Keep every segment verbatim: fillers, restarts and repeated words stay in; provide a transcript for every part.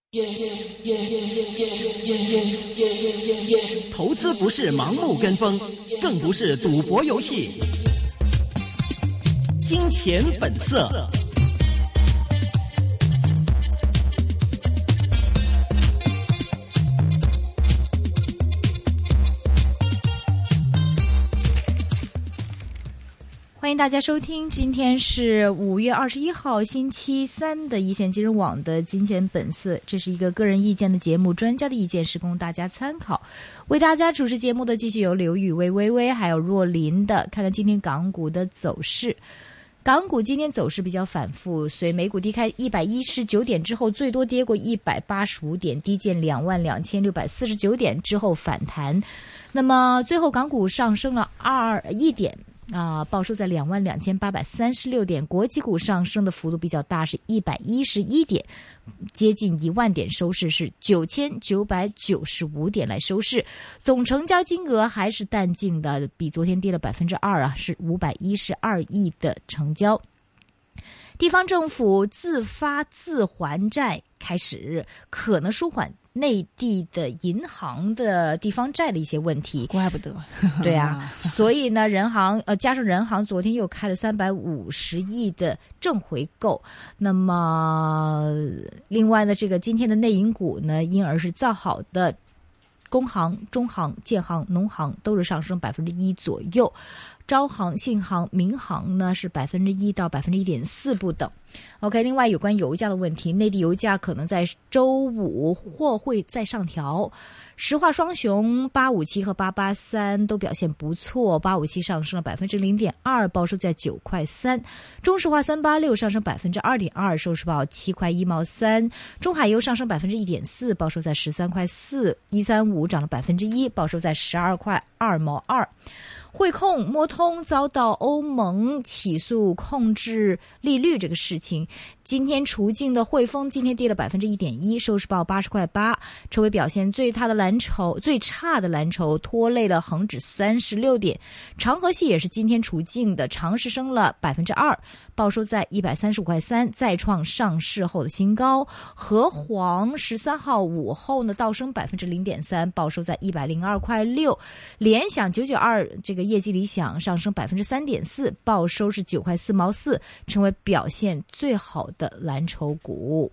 投资不是盲目跟风，更不是赌博游戏。金钱本色。 欢迎大家收听，今天是五月二十一号星期三的一线金融网的金钱本色，这是一个个人意见的节目，专家的意见是供大家参考。为大家主持节目的继续有刘宇薇、微微还有若琳的。看看今天港股的走势，港股今天走势比较反复，随美股低开一百一十九点之后，最多跌过一百八十五点，低见两万两千六百四十九点之后反弹。那么最后港股上升了二一点。啊，报收在两万两千八百三十六点，国际股上升的幅度比较大，是一百一十一点，接近一万点，收市是九千九百九十五点来收市，总成交金额还是淡静的，比昨天跌了百分之二啊，是五百一十二亿的成交。地方政府自发自还债开始，可能舒缓内地的银行的地方债的一些问题。 怪不得， 对啊，所以呢，人行呃加上人行昨天又开了三百五十亿的正回购。那么，另外呢，这个今天的内银股呢，因而是造好的。工行、中行、建行、农行都是上升百分之一左右，招行、信行、民行呢是百分之一到百分之一点四不等。OK， 另外有关油价的问题，内地油价可能在周五或会再上调。石化双雄八五七和八八三都表现不错，八五七上升了百分之零点二，报收在九块三；中石化三八六上升百分之二点二，收市报七块一毛三；中海油上升百分之一点四，报收在十三块四；一三五涨了百分之一，报收在十二块二毛二。汇控、摩通遭到欧盟起诉控制利率这个事情，今天除净的汇丰今天跌了百分之一点一，收市报八十块八，成为表现最差的蓝筹，最差的蓝筹拖累了恒指三十六点。长和系也是今天除净的，长实升了百分之二，报收在一百三十五块三，再创上市后的新高。和黄十三号午后呢，倒升百分之零点三，报收在一百零二块六。联想九九二这个业绩理想，上升百分之三点四，报收是九块四毛四，成为表现最好的蓝筹股。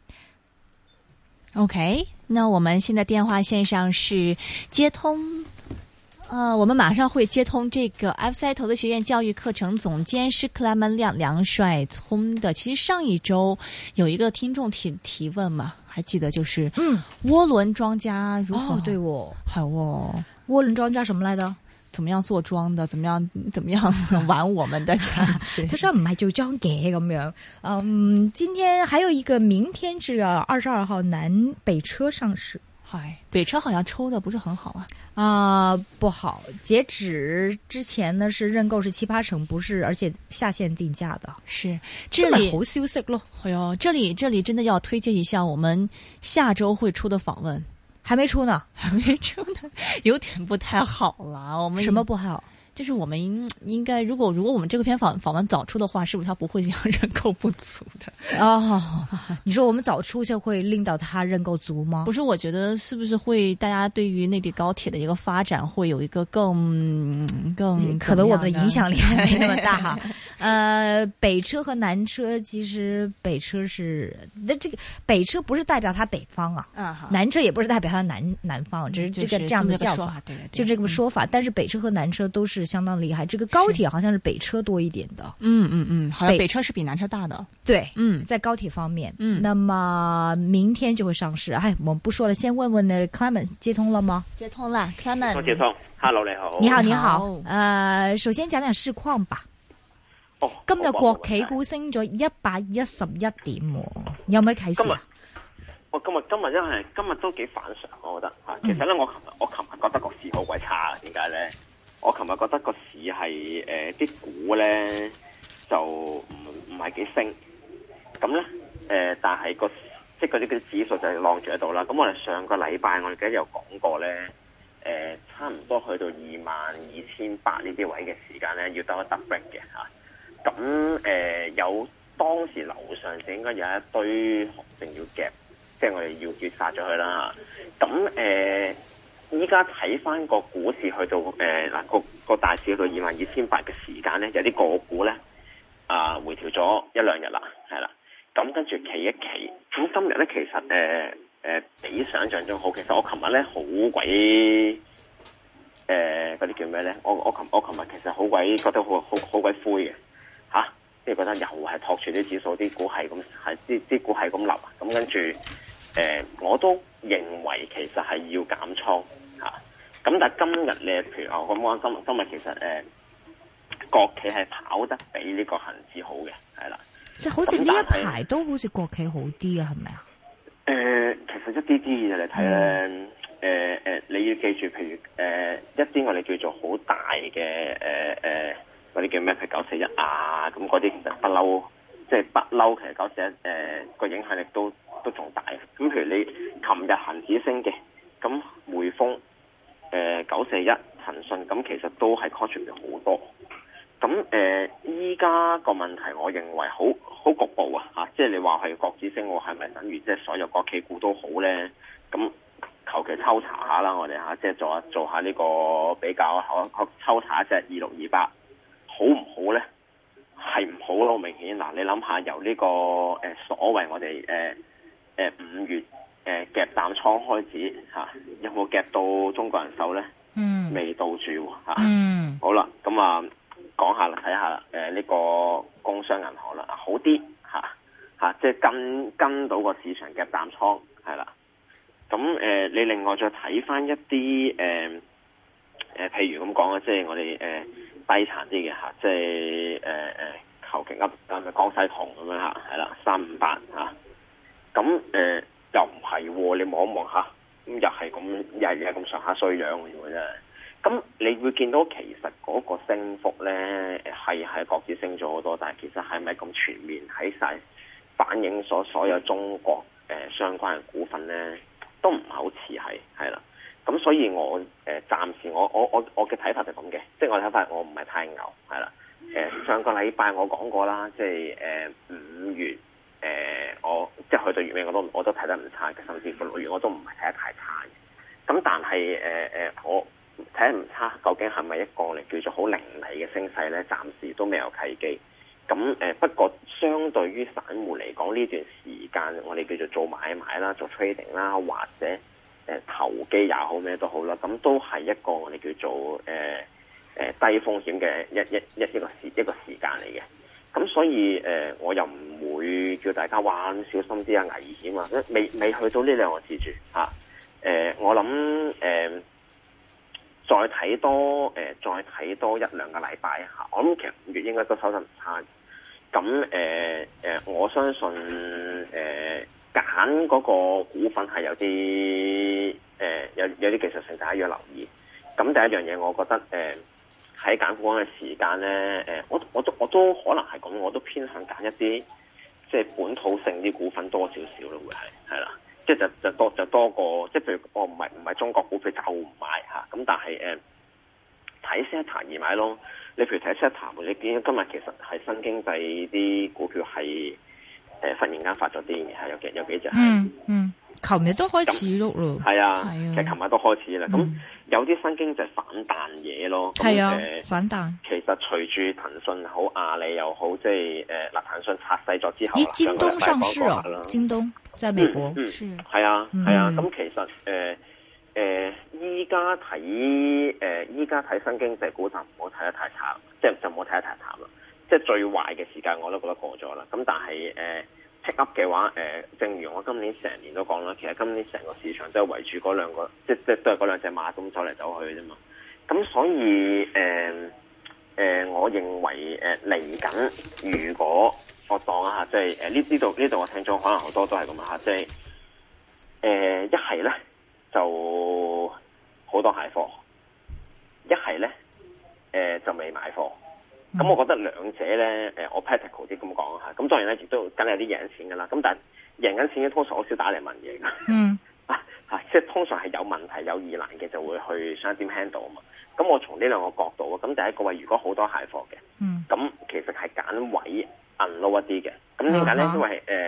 OK， 那我们现在电话线上是接通，呃，我们马上会接通这个 F C I 投资学院教育课程总监是克莱门亮梁帅聪的。其实上一周有一个听众提提问嘛，还记得就是嗯，涡轮庄家如何？ 哦，对哦， 好哦， 涡轮庄家什么来的？ 怎麼樣做莊的？怎麼樣怎麼樣玩我們的家？ 他說唔係做莊嘅咁樣。嗯，今天還有一個，明天是二十二號南北車上市。 嗨，北車好像抽的不是很好啊。 啊、呃，不好。截止之前呢是認購是七八成，不是，而且下線定價的。 是，這裡好消息咯。 哎呦，這裡這裡真的要推薦一下我們下周會出的訪問。 還沒出呢， 還沒出呢，有點不太好了。我們什麼不好？ 就是我們應該，如果如果我們這個篇訪訪問早出的話，是不是他不會這樣認購不足的？ 哦，你說我們早出就會令到他認購足嗎？ 不是，我覺得是不是會大家對於內地高鐵的一個發展會有一個更更可能我們的影響力還沒那麼大哈。呃，北車和南車其實北車是那這個北車不是代表它北方啊，嗯，南車也不是代表它南南方，只是這個這樣的叫法，對，就這個說法。但是北車和南車都是相當厲害，這個高鐵好像是北車多一點的。 嗯嗯嗯，好像北車是比南車大的。 對，嗯，在高鐵方面，嗯，那麼明天就會上市。哎，我們不說了，先問問呢 Clement 接通了嗎？ 接通了 Clement 我接通 ，Hello 你好。 你好你好，呃，首先講講市況吧。 哦， 今日國企股升咗一百一十一點，有咩啟示啊？ 我今日今日真係今日都幾反常，我覺得吓。其實咧，我琴日我琴日覺得個市好鬼差，點解咧？我琴日覺得個市係誒啲股咧就唔唔係幾升，咁咧誒，但係個即係嗰啲嗰啲指數就係晾住喺度啦。咁我哋上個禮拜我哋記得有講過咧，誒、呃、差唔多去到二萬二千八呢啲位嘅時間咧，要得一得 break 嘅嚇。咁、啊、誒、呃、有當時樓上就應該有一堆紅證要夾， 即係我哋要絕殺咗佢啦。咁誒，依家睇翻個股市去到誒嗱個個大市去到二萬二千八嘅時間咧，有啲個股咧啊、呃、回調咗一兩日啦，係啦。咁跟住企一企，咁今日咧其實誒誒、呃呃、比想象中好。其實我琴日咧好鬼誒嗰啲叫咩咧？我我琴我琴日其實好鬼覺得好好好鬼灰嘅嚇，即係覺得又係托住啲指數，啲股係咁係啲啲股係咁流，咁跟住誒我都認為其實係要減倉嚇。咁但係今日咧，譬如我咁安心，今日其實誒、呃、國企係跑得比呢個恆指好嘅，係啦。 即係好似呢一排都好似國企好啲啊，係咪啊？ 誒、呃，其實一啲啲嘢嚟睇咧，誒、呃、誒，你要記住，譬如誒、呃、一啲我哋叫做好大嘅誒誒嗰啲叫咩？譬如九四一啊，咁嗰啲其實不嬲，即係不嬲。其實九四一誒個影響力都都仲大。咁譬如你琴日恒指升嘅，咁匯豐誒九四一、騰訊，咁其實都係 contribute 好多。咁誒，依家個問題，我認為好好局部啊！嚇，即係你話係國指升，我係咪等於即係所有國企股都好咧？咁求其抽查下啦，我哋嚇，即係做下做下呢個比較，可抽查一隻二六二八，好唔好咧？係唔好咯，明顯嗱，你諗下由呢、這個誒、呃、所謂我哋誒誒五月誒、呃、夾淡倉開始嚇、啊，有冇夾到中國人壽咧？嗯，未到住嚇。嗯，好啦，咁啊。講下啦，睇下啦，誒、呃、呢、這個工商銀行啦，好啲嚇嚇，即係跟跟到個市場嘅淡倉係啦。咁誒、呃，你另外再睇翻一啲誒誒，譬如咁講啊，即係我哋誒、呃、低殘啲嘅嚇，即係誒誒求其噏啊，咪江西銅咁樣嚇，係啦，三五八嚇。咁、呃、誒又唔係喎，你望一望下，咁又係咁，又係咁上下衰樣嘅喎，真係。咁你會見到其實嗰個升幅咧係係國指升咗好多，但係其實係咪咁全面喺晒反映所所有中國誒、呃、相關嘅股份咧，都唔係好似係係啦。咁所以我誒、呃、暫時我我我我嘅睇法就咁嘅，即係我睇法我唔係太牛係啦。誒、呃、上個禮拜我講過啦，即係誒五月誒、呃、我即係去到月尾我都我都睇得唔差嘅，甚至乎六月我都唔係睇得太差嘅。咁但係誒誒我。睇得唔差，究竟係咪一個嚟叫做好凌厲嘅升勢咧？暫時都未有契機。咁誒、呃，不過相對於散戶嚟講，呢段時間我哋叫做做買賣啦、做 trading 啦，或者誒、呃、投機也好咩都好啦，咁都係一個我哋叫做誒誒、呃呃、低風險嘅一一一一個時一個時間嚟嘅。咁所以誒、呃，我又唔會叫大家話小心啲啊，危險啊，未未去到呢兩個字住嚇。誒、啊呃，我諗誒。呃再睇多誒、呃，再睇多一兩個禮拜嚇，我諗其實五月應該都收得唔差。咁誒誒，我相信誒揀嗰個股份係有啲誒、呃、有有啲技術性，大家要留意。咁第一樣嘢，我覺得誒喺揀股嘅時間咧，誒、呃、我我都我都可能係咁，我都偏向揀一啲即係本土性啲股份多少少咯，會係係啦。即係就就多就多過，即係譬如我唔係唔係中國股票就唔買嚇，咁但係誒睇 Seta 而買咯。你譬如睇 Seta，你見今日其實係新經濟啲股票係誒、呃、忽然間發咗癲嘅，係有幾有幾隻係。 嗯嗯，琴日都開始碌咯。 係啊，啊其實琴日都開始啦。咁、嗯、有啲新經濟反彈嘢咯。係啊，呃、反彈。其實隨住騰訊好、阿里又好，即係誒嗱騰訊拆細咗之後， 咦？京東上市啊？京東。在美國， 嗯，係啊，係啊，咁其實誒誒，依家睇誒，依家睇新經濟股就唔好睇得太差，即係就唔好睇得太淡啦。即係最壞嘅時間我都覺得過咗啦。咁但係誒 pick up 嘅話，誒、呃，正如我今年成年都講啦，其實今年成個市場都係圍住嗰兩個，即即都係嗰兩隻馬咁走嚟走去啫嘛。咁所以誒誒、呃呃，我認為誒嚟緊，如果我當一下，即係誒呢呢度呢度嘅聽眾可能好多都係咁啊，即係誒一係咧就好多蟹貨，一係咧誒就未買貨。咁、嗯、我覺得兩者咧誒，我 practical 啲咁講下。咁當然咧亦都梗係有啲贏錢噶啦。咁但係贏緊錢嘅通常好少打嚟問嘢噶。嗯啊嚇，即係通常係有問題有疑難嘅就會去想點 handle 啊嘛。咁我從呢兩個角度啊，咁第一個位如果好多蟹貨嘅，咁、嗯、其實係揀位。unload 一啲嘅，咁點解咧？因為誒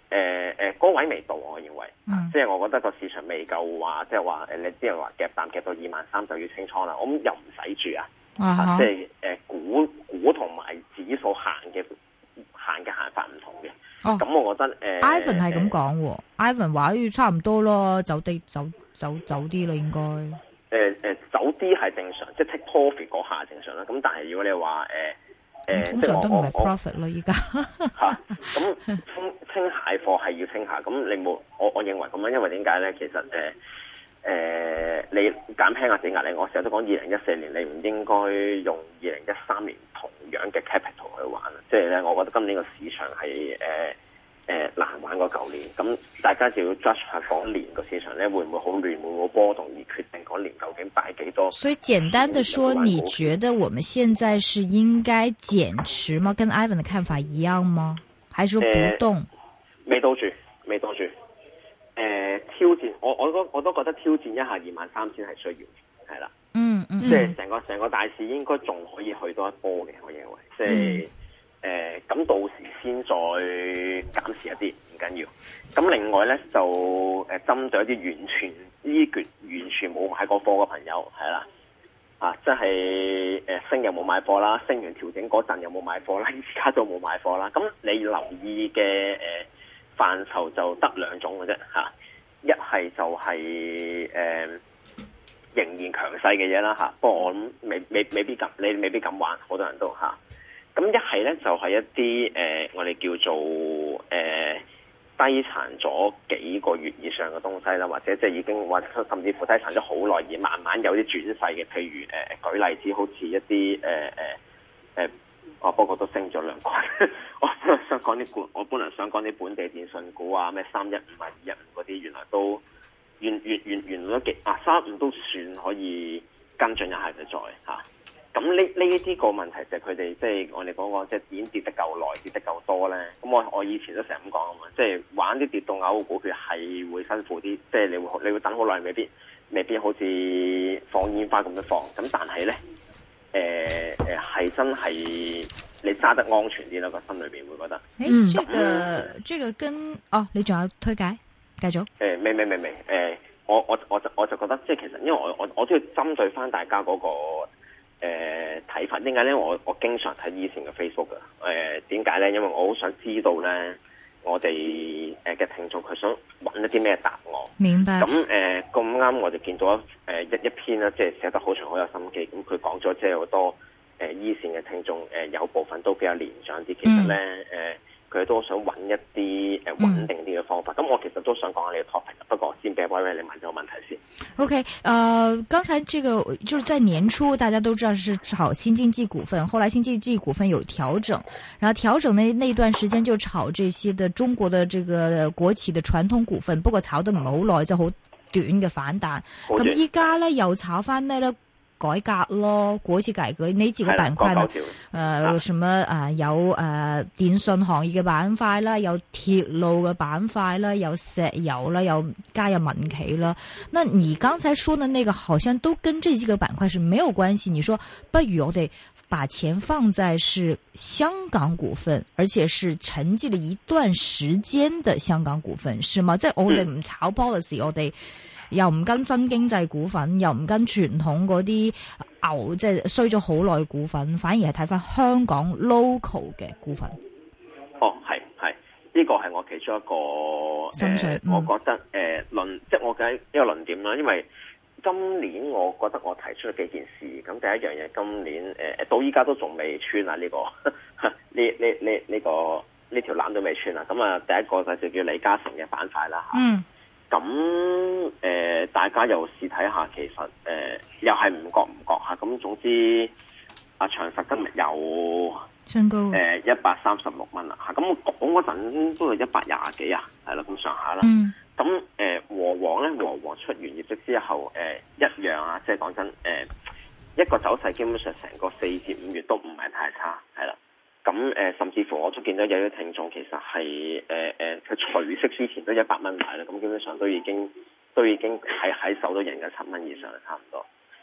誒誒嗰位未到，我認為， 嗯、 即係我覺得個市場未夠話，即係話誒你啲人話夾淡夾到二萬三就要清倉啦，我諗又唔使住啊， 啊啊即係誒、呃、股股同埋指數行嘅行嘅行法唔同嘅。咁、哦、我覺得誒、呃、 ，Ivan 係咁講喎 ，Ivan 話要差唔多咯，走啲走走走啲啦，應該。誒、 呃、誒、呃，走啲係正常，即係 take profit 嗰下正常啦。咁但係如果你話誒。呃誒， 通常都唔係 profit 咯，依家吓咁清清蟹貨係要清下，咁你冇我我認為咁樣，因為點解咧？其實誒誒、呃呃，你減輕下自己壓力，我成日都講二零一四年你唔應該用二零一三年同樣嘅 capital 去玩，即係咧，我覺得今年個市場係誒誒難玩過舊年，咁大家就要 judge 下嗰年個市場咧會唔會好亂，會唔會波動而決定嗰年究竟擺幾多。 所以簡單的說，你覺得我們現在是應該減持嗎？跟 Ivan 的看法一樣嗎？還是說不動？呃、 未到住，未到住。誒、呃，挑戰，我我都我都覺得挑戰一下二萬三千係需要，係啦。嗯嗯。即係成個成個大市應該仲可以去多一波嘅，我認為。即係。嗯誒，咁、呃、到時先再減持一啲唔緊要。咁另外咧就誒，針對一啲完全呢橛完全冇買過貨嘅朋友，係啦，啊，即係誒升又冇買貨啦，升完調整嗰陣又冇買貨啦，而家都冇買貨啦。咁你留意嘅誒範疇就得兩種嘅啫，吓、啊，一係就係、是、誒、呃、仍然強勢嘅嘢啦，吓、啊。不過我諗未未未必敢，你未必敢玩，好多人都吓。啊咁一係咧就係、是、一啲誒、呃，我哋叫做誒、呃、低殘咗幾個月以上嘅東西啦，或者即係已經或者甚至乎低殘咗好耐而慢慢有啲轉勢嘅，譬如誒、呃、舉例子，好似一啲誒誒誒，我不過都升咗兩塊。我本來想講啲本，我本來想講啲本地電信股啊，咩三一五啊、二一五嗰啲，原來都原原原原來都幾啊三五都算可以跟進一下嘅再嚇。咁呢呢啲個問題就係佢哋即係我哋講講，即係已經跌得夠耐，跌得夠多咧。咁我我以前都成日咁講啊嘛，即係玩啲跌到嘔嘅股票係會辛苦啲，即係你會你會等好耐，未必未必好似放煙花咁樣放。咁但係咧，誒誒係真係你揸得安全啲啦，個心裏邊會覺得。 誒，這個這個跟哦，你仲有推介？繼續。誒， 未未未未誒，我我我就我就覺得即係其實因為我我我都要針對翻大家嗰個。誒睇、呃、法點解咧？我我經常睇以前嘅 Facebook 嘅誒點解咧？因為我好想知道咧，我哋誒嘅聽眾佢想揾一啲咩答案。 明白。咁誒咁啱，我哋見到一誒一一篇啦，即係寫得好長，好有心機。咁佢講咗即係好多誒一線嘅聽眾誒、呃，有部分都比較年長啲。其實咧誒，佢、呃、都想揾一啲誒穩定啲嘅方法。咁、嗯、我其實都想講下呢個 topic，不過先俾威威你問咗個問題先。 OK，呃，剛才這個就是在年初，大家都知道是炒新經濟股份，後來新經濟股份有調整，然後調整那那段時間就炒這些的中國的這個國企的傳統股份，不過炒得唔係好耐，就好短嘅反彈。咁依家咧又炒翻咩咧？改革咯，國企改革呢幾個板塊呢？誒、呃，什麼啊、呃？有誒、呃、電信行業嘅板塊啦，有鐵路嘅板塊啦，有石油啦，有加入民企啦。那你剛才說的那個，好像都跟這幾個板塊是沒有關係。你說不如我哋把錢放在是香港股份，而且是沉寂了一段時間的香港股份，是嗎？即係我哋唔炒 policy，我哋。又唔跟新經濟股份，又唔跟傳統嗰啲牛，即係衰咗好耐股份，反而係睇翻香港 local 嘅股份。 哦，係係，呢個係我其中一個心水、呃嗯、我覺得誒論、呃，即係我嘅一個論點啦。因為今年我覺得我提出咗幾件事，咁第一樣嘢，今年誒、呃、到依家都仲未穿啊呢、這個呢呢呢呢個呢條纜都未穿啊。咁啊，第一個就叫李嘉誠嘅板塊啦吓。嗯。咁誒、呃，大家又試睇下，其實誒、呃、又係唔覺唔覺嚇。咁總之，阿長實今日有升高誒一百三十六蚊啦嚇。咁我講嗰陣都係一百廿幾啊，係啦咁上下啦。咁誒、嗯呃、和黃咧，和黃出完業績之後，誒、呃、一樣啊，即係講真誒、呃、一個走勢，基本上成個四至五月都唔係太差，係啦。咁誒、呃，甚至乎我都見到有啲聽眾其實係誒誒，佢、呃、除息之前都一百蚊買啦，咁基本上都已經都已經喺喺手都贏緊七蚊以上啦，差唔多。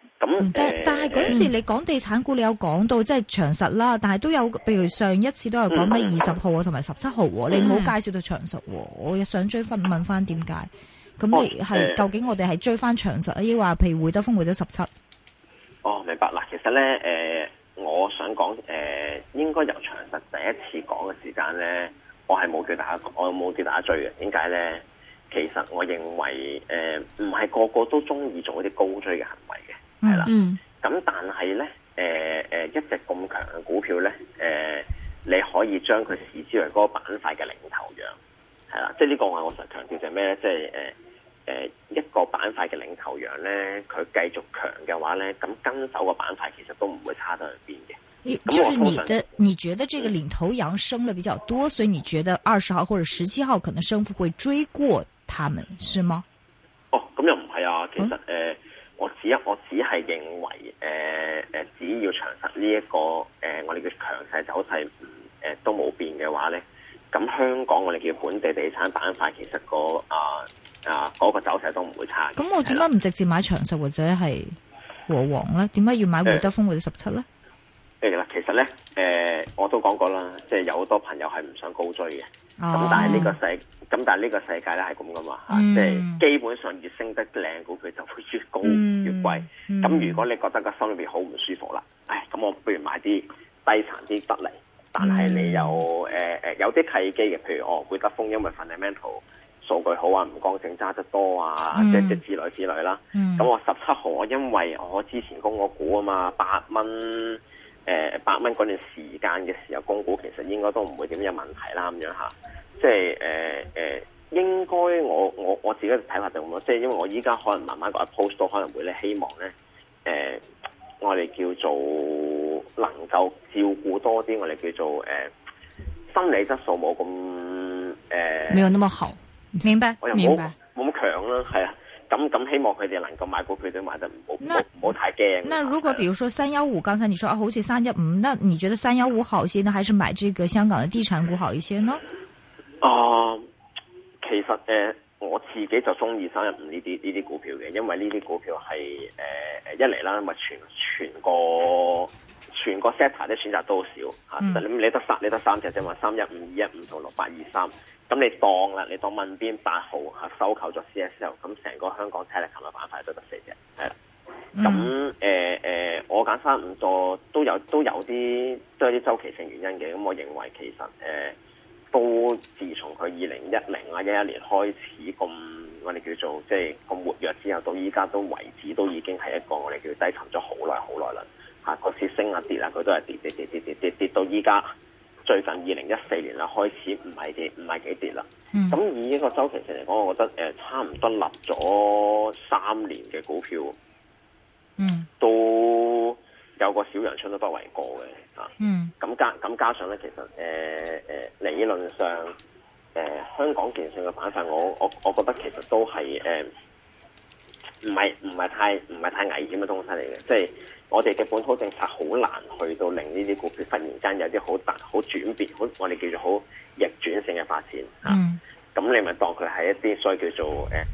咁、 嗯、但呃、 但係嗰時你講地產股，你有講到即係長實啦，但係都有，譬如上一次都有講咩二十號啊，同埋十七號，你冇介紹到長實，我想追翻問翻點解？咁你係、呃、究竟我哋係追翻長實啊，抑或譬如會德豐或者十七？ 哦，明白啦。其實咧，誒、呃，我想講，誒、呃，應該由長實第一次講嘅時間咧，我係冇叫大家，我冇叫大家追嘅。點解咧？其實我認為，誒、呃，唔係個個都中意做一啲高追嘅行為嘅，係啦。 嗯。 咁但係咧，誒、呃，誒、呃，一隻咁強嘅股票咧，誒、呃，你可以將佢視之為嗰個板塊嘅領頭羊，係啦。即係呢個我我成日強調就係咩咧？即係誒。呃誒、呃，一個板塊嘅領頭羊咧，佢繼續強嘅話咧，咁跟手個板塊其實都唔會差得去邊嘅。 就是你的，你覺得這個領頭羊升得比較多，所以你覺得二十號或者十七號可能升幅會追過他們，是嗎？ 哦，咁又唔係啊，其實誒、嗯呃，我只一我只係認為，誒、呃、誒，只要長實呢一個誒、呃，我哋嘅強勢走勢，誒、呃、都冇變嘅話咧，咁香港我哋叫本地地產板塊，其實個啊。呃啊，嗰、那個走勢都唔會差。 咁我點解唔直接買長實或者係和黃咧？點解要買會德豐或者十七咧？ 誒啦，其實咧，誒、呃，我都講過啦，即係有好多朋友係唔想高追嘅。咁、哦、但係呢個世，咁但係呢個世界咧係咁噶嘛，吓、嗯，即係基本上越升得靚股票就會越高、嗯、越貴。咁、嗯、如果你覺得個心裏邊好唔舒服啦，唉，咁我不如買啲低殘啲得嚟，但係你有誒誒、嗯呃、有啲契機嘅，譬如哦會德豐因為 fundamental。數據好啊，唔剛性揸得多啊，即係即之類之類啦。咁、嗯、我十七號，我因為我之前供我股啊嘛，八蚊誒八蚊嗰段時間嘅時候供股，其實應該都唔會點有問題啦咁樣嚇。即係誒誒，應該我我我自己嘅睇法就咁咯。即係因為我依家可能慢慢個 approach 都可能會咧，希望咧誒、呃，我哋叫做能夠照顧多啲，我哋叫做誒、呃、心理質素冇咁誒， 沒有那麼好。 明白， 我又冇冇咁強啦，係啊，咁咁希望佢哋能夠買股票都買得唔好，唔好唔好太驚。 那如果比如說三幺五，剛才你說啊，好似三一五，那你覺得三幺五好些呢，還是買這個香港的地產股好一些呢？ 啊、呃，其實誒、呃，我自己就中意三一五呢啲呢啲股票嘅，因為呢啲股票係誒誒一嚟啦，咪全全個全個 sector 啲選擇都好少吓，你、嗯、你得三你得三隻啫嘛，三一五、二一五同六八二三。咁你當啦，你當問邊八號嚇收購咗 C S L， 咁成個香港 telecom 嘅板塊都得四隻，係啦。咁誒誒，我揀三五座都有都有啲都有啲周期性原因嘅。咁我認為其實誒、呃、都自從佢二零一零啊一一年開始咁，我哋叫做即係咁活躍之後，到依家都為止都已經係一個我哋叫低沉咗好耐好耐啦。嚇個市升啊跌啊，佢都係跌跌跌跌跌跌跌到依家。最近二零一四年啦，開始唔係幾唔係幾跌啦。咁、嗯、以呢個周期性嚟講，我覺得誒、呃、差唔多立咗三年嘅股票，嗯，都有個小陽春都不為過嘅啊。嗯，咁加咁加上咧，其實誒誒、呃、理論上誒、呃、香港電信嘅板塊，我我我覺得其實都係誒唔係唔係太唔係太危險嘅東西嚟嘅，即係。我哋嘅本土政策好難去到令呢啲股票忽然間有啲好大好轉變，好我哋叫做好逆轉性嘅發展嚇。咁、嗯啊、你咪當佢係一啲所謂叫做誒，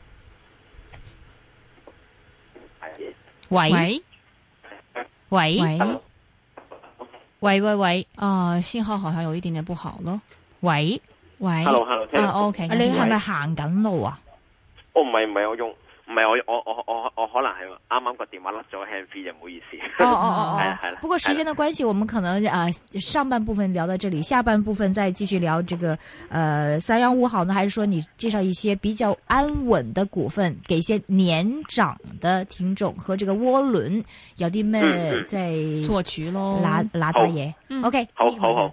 係、呃、 喂喂喂喂喂喂，啊、呃，信號好像有一點點不好咯。喂喂 ，hello hello， 啊 OK， 你係咪行緊路啊？ 哦，唔係唔係，我用。唔係我我我我我可能係啱啱個電話甩咗 hand free 就唔好意思。 哦哦哦， 係啦係啦。 不過時間的關係，我們可能啊、呃、上半部分聊到這裡，下半部分再繼續聊這個呃三幺五好呢，還是說你介紹一些比較安穩的股份，給一些年長的聽眾和這個渦輪有啲咩在做局咯，拿拿扎嘢。OK， 好好好。